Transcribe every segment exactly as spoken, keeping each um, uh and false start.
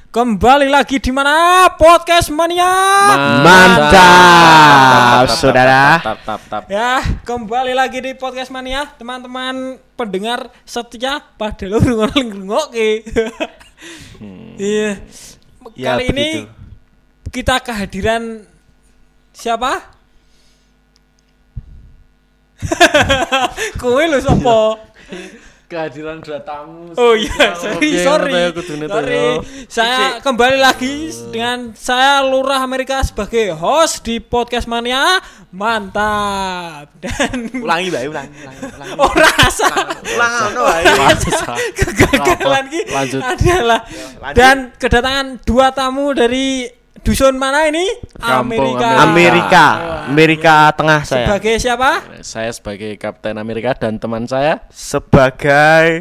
Kembali lagi di mana? Podcast Mania. Mantap, saudara. Tap, tap, tap. Ya, kembali lagi di Podcast Mania, teman-teman pendengar setia pada lu ngrungokke. Iya. Ya, Kali ini begitu. kita kehadiran siapa? Kowe lho sapa? Kehadiran dua tamu. Oh iya, sorry, sorry. sorry. Saya kembali lagi dengan saya Lurah Amerika sebagai host di Podcast Mania. Mantap. Dan Ulangi, Mbak, ulangi, ulangi, ulangi. oh rasa Ulang ngono wae. kegagalan ki Lanjut. adalah Lanjut. dan kedatangan dua tamu dari dusun mana ini? Kampung Amerika. Amerika, Amerika Tengah saya. Sebagai siapa? Saya sebagai Kapten Amerika dan teman saya Sebagai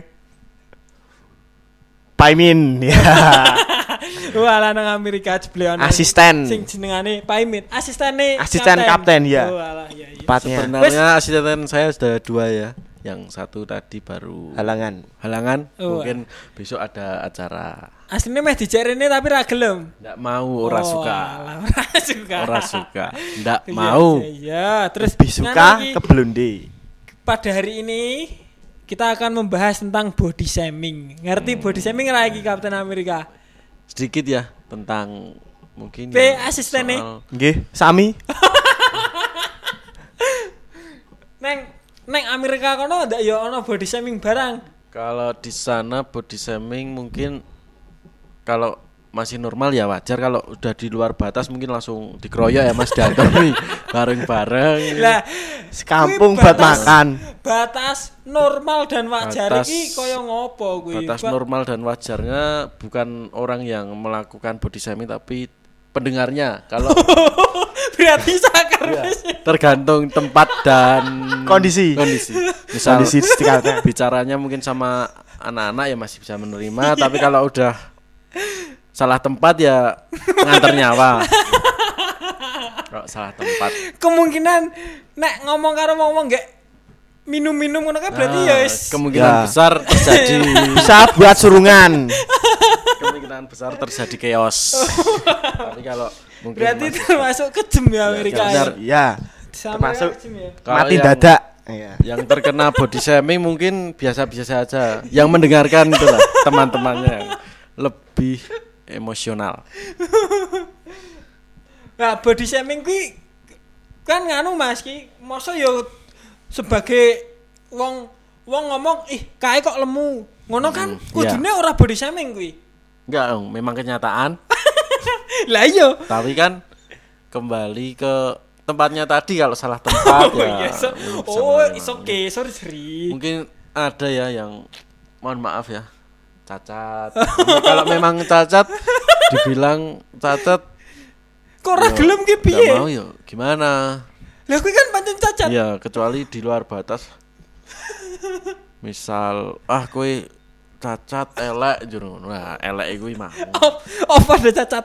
Paimin, ya. Wah, lanang Amerika jebleon. Asisten. Sing jenengane Paimin. Asistene Asisten kapten, ya. Oh, alah, iya, iya. Tepatnya sebenarnya asisten saya sudah dua ya. Yang satu tadi baru halangan. halangan. Oh. Mungkin besok ada acara. Aslinya meh dijarene tapi ra gelem. Nggak mau, ora Oh, suka. alah, Ora suka. Ora suka. Nggak Iya, mau. Iya, iya. Terus Lebih suka nganu iki, ke Blonde. pada hari ini kita akan membahas tentang body shaming. Ngerti body shaming ra iki Kapten Amerika? Sedikit ya tentang mungkin P yang asistennya. soal- Nggih, sami. Neng neng Amerika kono ndak ya ono body shaming barang. Kalau di sana body shaming mungkin kalau masih normal ya wajar, kalau udah di luar batas mungkin langsung dikeroyok ya Mas datang nih bareng-bareng. Lah, Sekampung kuwi buat batas- makan. Batas normal dan wajar Batas- iki koyo ngopo kuwi? Batas Ba- normal dan wajarnya bukan orang yang melakukan body shaming tapi pendengarnya. Kalau Berarti sakar ya, wis. tergantung tempat dan Kondisi. Kondisi. Misal Kondisi sekitarnya. bicaranya mungkin sama anak-anak ya masih bisa menerima, tapi kalau udah salah tempat ya nganter nyawa. Kalau salah tempat. Kemungkinan nek ngomong karo ngomong gak minum-minum ngono kan berarti ya Nah, wis kemungkinan Ya. besar terjadi Bisa buat surungan. kemungkinan besar terjadi chaos. Tapi kalau mungkin berarti masih- termasuk kejem ya Amerika. ya benar. Ya, Sama termasuk kejem ya. kalau mati yang- dadak. Iya. yang terkena body shaming mungkin biasa-biasa saja. Yang mendengarkan itulah teman-temannya yang lebih emosional. Nah, body shaming kuwi kan nganu Mas ki, masa yo sebagai wong wong ngomong ih kae kok lemu. Ngono kan Hmm, kudune ora body shaming kuwi. Enggak dong, memang kenyataan. Lah iya. Tapi kan kembali ke tempatnya tadi, kalau salah tempat Oh, ya. iya, so- bisa oh, menerima. it's okay, sorry sorry. Mungkin ada ya yang mohon maaf ya, cacat. Mungkin kalau memang cacat dibilang cacat Kok ora ya gelem ki nggak piye? mau ya gimana? Lah kuwi kan pancen cacat. Iya, kecuali di luar batas. Misal ah kowe cacat elek jero. Nah, elek kuwi mah. Oh, oh pada cacat.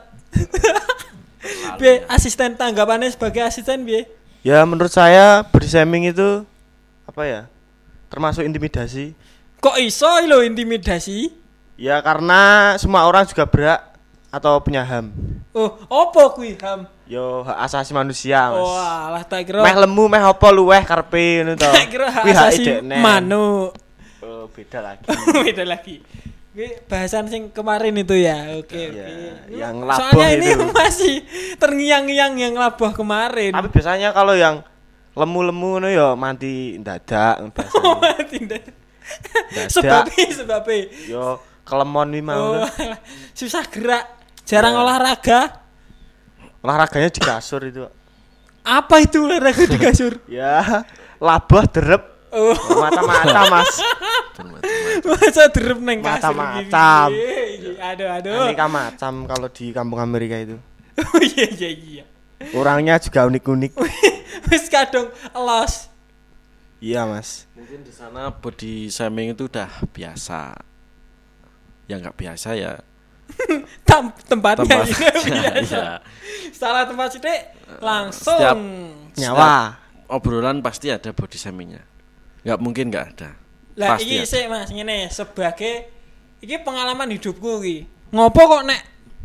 Piye asisten tanggapannya sebagai asisten piye? Ya menurut saya body shaming itu apa ya? Termasuk intimidasi. Kok iso lho intimidasi? Ya karena semua orang juga berhak atau punya H A M. Oh, opo kuwi Ham? Yo hak asasi manusia, Mas. Oh, alah tak kira. Meh lemu meh apa luweh karepe ngono to. Tak kira hak Kuwi hak asasi idekne. manuk. Oh, beda lagi. Beda lagi. Kuwi bahasan sing kemarin itu ya. Oke, Iya, oke. yang labuh Soalnya ini itu. masih terngiang-ngiang yang labuh kemarin. Tapi biasanya kalau yang lemu-lemu ngono yo mati ndadak Oh, biasanya. tidak. Dadak. Sebabnya sebabnya. Yo kelemon wi mau. Oh, susah gerak, jarang Ya. olahraga. Olahraganya di kasur itu. Apa itu olahraga di kasur? Ya, labah derep. Oh, Mata-mata, Mas. masa derep neng kasur Macam-macam. gini. Aduh, aduh. Aneka macam kalau di kampung Amerika itu. Oh iya iya iya. Orangnya juga unik-unik. Wis kadung elos. Iya, Mas. Mungkin di sana body shaming itu udah biasa. Yang nggak biasa ya Tam, tempatnya tempatnya. biasa. Ya. Salah tempat sithik langsung Setiap- Nyawa. Obrolan pasti ada body shamingnya. Nggak mungkin nggak ada. Lah Pasti iki ada. sik Mas ngene sebagai iki pengalaman hidupku iki. Ngopo kok nek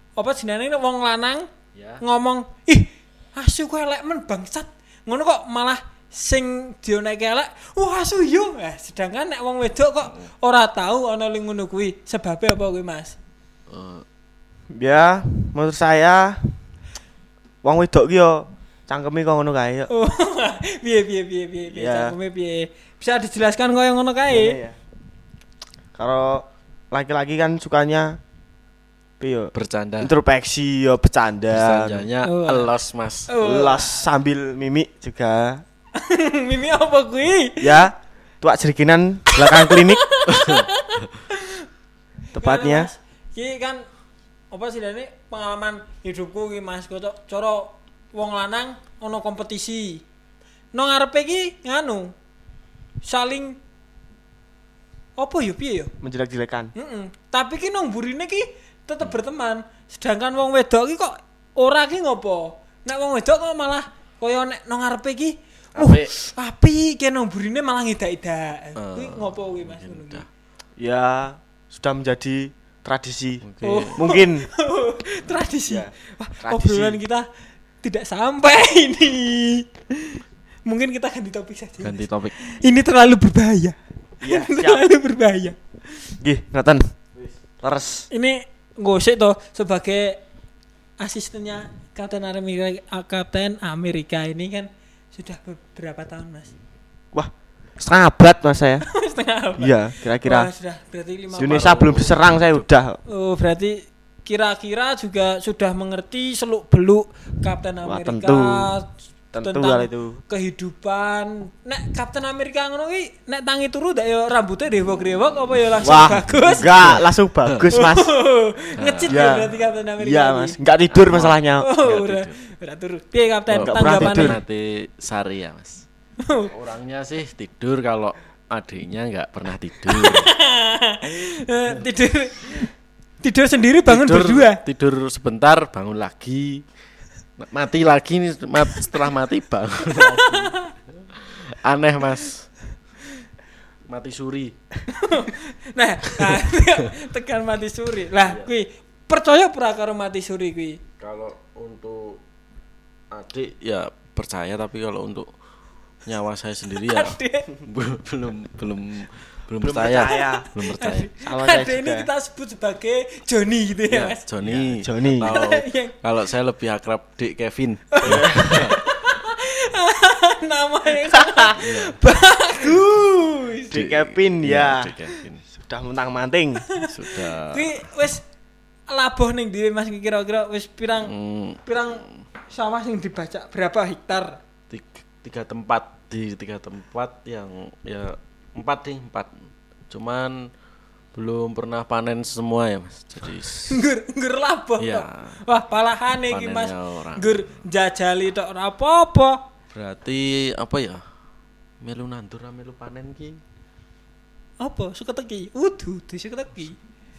apa jenenge wong lanang Ya. ngomong, "Ih, asu kowe elek men bangsat." Ngono kok malah sing dionek elek, "Wah, asu yo." Eh, sedangkan nek wong wedok kok ora tahu ana ling ngono kuwi. Sebabe apa kuwi, Mas? Uh, Ya, menurut saya wong wedok ki yo cangkeme kok ngono kae yo. Oh, piye piye piye piye piye Ya. cangkeme piye? Bisa dijelaskan kok yang ngono kae? Ya. Kalau laki-laki kan sukanya piye yo? bercanda. Introspeksi yo, bercanda. Bercandanya Oh. elos, Mas. Oh. Las sambil mimik juga. Mimi apa kuwi? Ya, tuak jerikinan belakang klinik. Tepatnya. Ki kan apa sih dene pengalaman hidupku ki Mas, kok cara wong lanang ono kompetisi. Nang ngarepe ki nganu saling apa yo piye yo? Menjelek-jelekan. Heeh. Tapi ki nang burine ki tetep berteman. Sedangkan wong wedok ki kok ora ki ngopo? Nek wong wedok kok malah kaya nek nang ngarepe ki uh, Apik. api ki nang burine malah ngidak-idak. Uh, Kuwi ngopo kuwi Mas ngono udah. ki? Ya, sudah menjadi tradisi. Oke. Oh. Mungkin Tradisi. Ya, Wah, tradisi. obrolan kita tidak sampai ini. Mungkin kita ganti topik saja. Ganti topik. Ini terlalu berbahaya. Iya, Ini siap. terlalu berbahaya. Nggih, ngoten. Leres. Ini gosek toh sebagai asistennya Kapten Amerika, Kapten Amerika ini kan sudah beberapa tahun, Mas. Wah, setengah abad Mas saya. Setengah abad. Iya, kira-kira. Wah, sudah berarti lima Indonesia belum diserang saya udah. Oh, berarti kira-kira juga sudah mengerti seluk-beluk Kapten Wah, Amerika. tentu. Tentu tentang hal itu. kehidupan. Nek Kapten Amerika ngono ki nek tangi turu ndak ya rambutnya dewok-dewok apa ya langsung Wah, bagus. enggak, langsung bagus Mas. Ngecit Ya. ya berarti Kapten Amerika. Iya ini. Mas, enggak tidur masalahnya. Oh, Nggak udah. tidur. Udah turu. Piye Kapten Oh, nggak pernah tanggapannya? tidur. Mati sari ya, Mas. Orangnya sih tidur, kalau adiknya nggak pernah tidur. Eh, tidur tidur sendiri bangun tidur, berdua. Tidur sebentar, bangun lagi. Mati lagi nih, mat- setelah mati bangun lagi. Aneh, Mas. Mati suri. Nah, nah tekan mati suri. Lah, kuwi percaya ora karo mati suri kuwi? Kalau untuk adik ya percaya, tapi kalau untuk nyawa saya sendiri ya Adik. belum belum belum belum Belum percaya. percaya. Belum percaya. Sama saya Ada ini juga. kita sebut sebagai Joni gitu ya, Ya, Mas. Johnny. Ya, Johnny. Kalau Yang- kalau saya lebih akrab Dik Kevin. Nama yang sangat bagus. Dik Kevin ya. Dik Kevin. Sudah mentang-manting. Sudah Kuwi wis labuh ning dhewe Mas kira-kira wis pirang mm, pirang sawah sing dibaca berapa hektar? tiga, tiga tempat di tiga tempat yang ya empat nih empat. Cuman belum pernah panen semua ya, Mas. Jadi Nggur nggur labuh Iya. tok. Wah, palahane iki Mas. Panennya orang. Nggur jajali tok ora apa-apa. berarti apa ya? Melu nandur ra melu panen ki. Apa? Suka teki. Udu, di suka teki.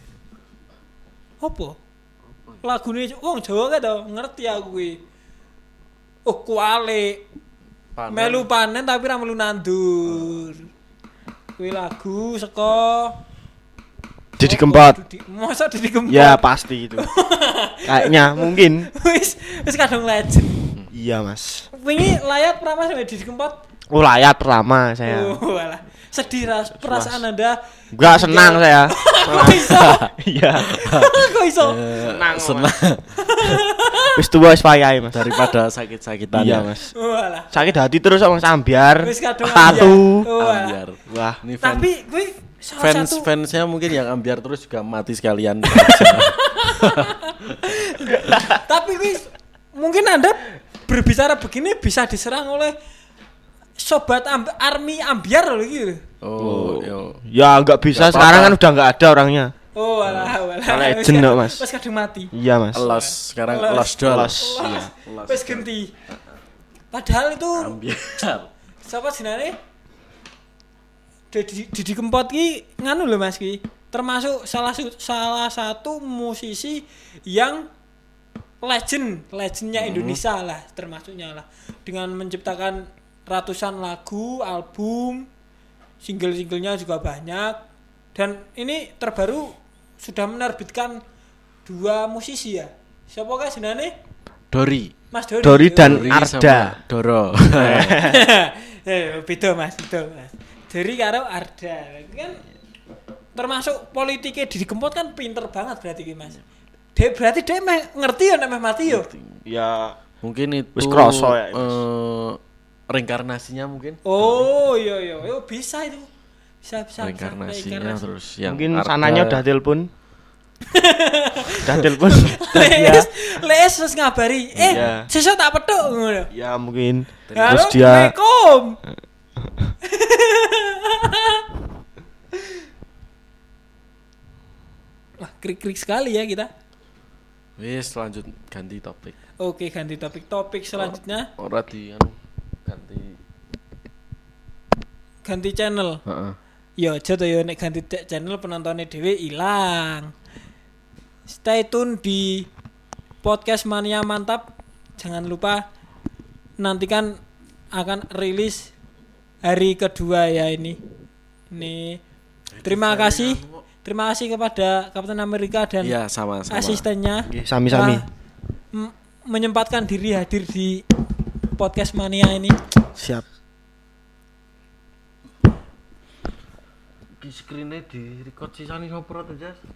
Apa? Lagune wong Jawa kan to, ngerti aku kuwi. Oh, kuali. Panen. Melu panen tapi ra melu nandur. Kuwi lagu saka Didi Kempot. Didi- Masa Didi Kempot? Ya pasti itu. Kayaknya mungkin. Wis wis kadung legend. Iya Mas. Wingi layar pernah Mas Didi Kempot? Oh layar pertama saya. Oh, alah. Sedih ras perasaan Anda. Enggak senang saya. Kok iso? Iya. Kok iso? Senang. Mas. Senang Wis tua wis payah Mas. daripada sakit-sakitan Iya ya. Mas. Oh, alah. Sakit hati terus sama sambiar. Wis kadung Tatu. ambiar. Oh, alah. Ambiar. Wah. Ini fans, Tapi kuwi salah fans satu fansnya mungkin yang ambiar terus juga mati sekalian. tapi kuwi mungkin Anda berbicara begini bisa diserang oleh sobat amb- army ambiar loh gitu. Oh, yo. Ya nggak bisa Nggak sekarang kan apa-apa. udah nggak ada orangnya. Oh, alah, alah. Kalau legend kok, Mas. Wis kadung mati. Iya Mas. Los sekarang Los. los dol. Los. Wah, Los. wis ganti. Padahal itu Ambiar. siapa jenenge? Didi Didi Kempot ki nganu lho Mas ki. Termasuk salah su- salah satu musisi yang legend, legendnya Indonesia lah termasuknya lah. Dengan menciptakan ratusan lagu, album, single-singlenya juga banyak. Dan ini terbaru sudah menerbitkan dua musisi ya. Siapa kae jenenge? Dori. Mas Dori. Dori dan Dori Arda. sama Doro. Eh, beda Mas, beda Mas. Dori karo Arda. Kan termasuk politiknya Didi Kempot kan pinter banget berarti ki Mas. Dia berarti dia meh ngerti ya nek meh mati yo. Ya Mungkin itu Wis kroso ya, Mas. eh, reinkarnasinya mungkin. Oh, iya iya, yo bisa itu. Bisa bisa. Reinkarnasinya bisa. terus yang mungkin Arda- sananya udah telepon. Udah telepon. Les, les terus ngabari. Eh, Iya. sesuk tak petuk ngono. Ya mungkin. Halo, Terus dia Assalamualaikum. Wah, krik-krik sekali ya kita. Wis lanjut ganti topik. Oke, ganti topik. Topik selanjutnya Ora di anu ganti. ganti channel. Heeh. Ya aja to ya nek ganti te- channel penontonnya dhewe ilang. Stay tune di podcast Mania Mantap. Jangan lupa nantikan akan rilis hari kedua ya ini. Ini terima kasih. Terima kasih kepada Kapten Amerika dan Iya, sama-sama. asistennya. Nggih, sami-sami. Telah m- menyempatkan diri hadir di podcast Mania ini. Siap. Di screen-nya di record sisane sopro to, Jas?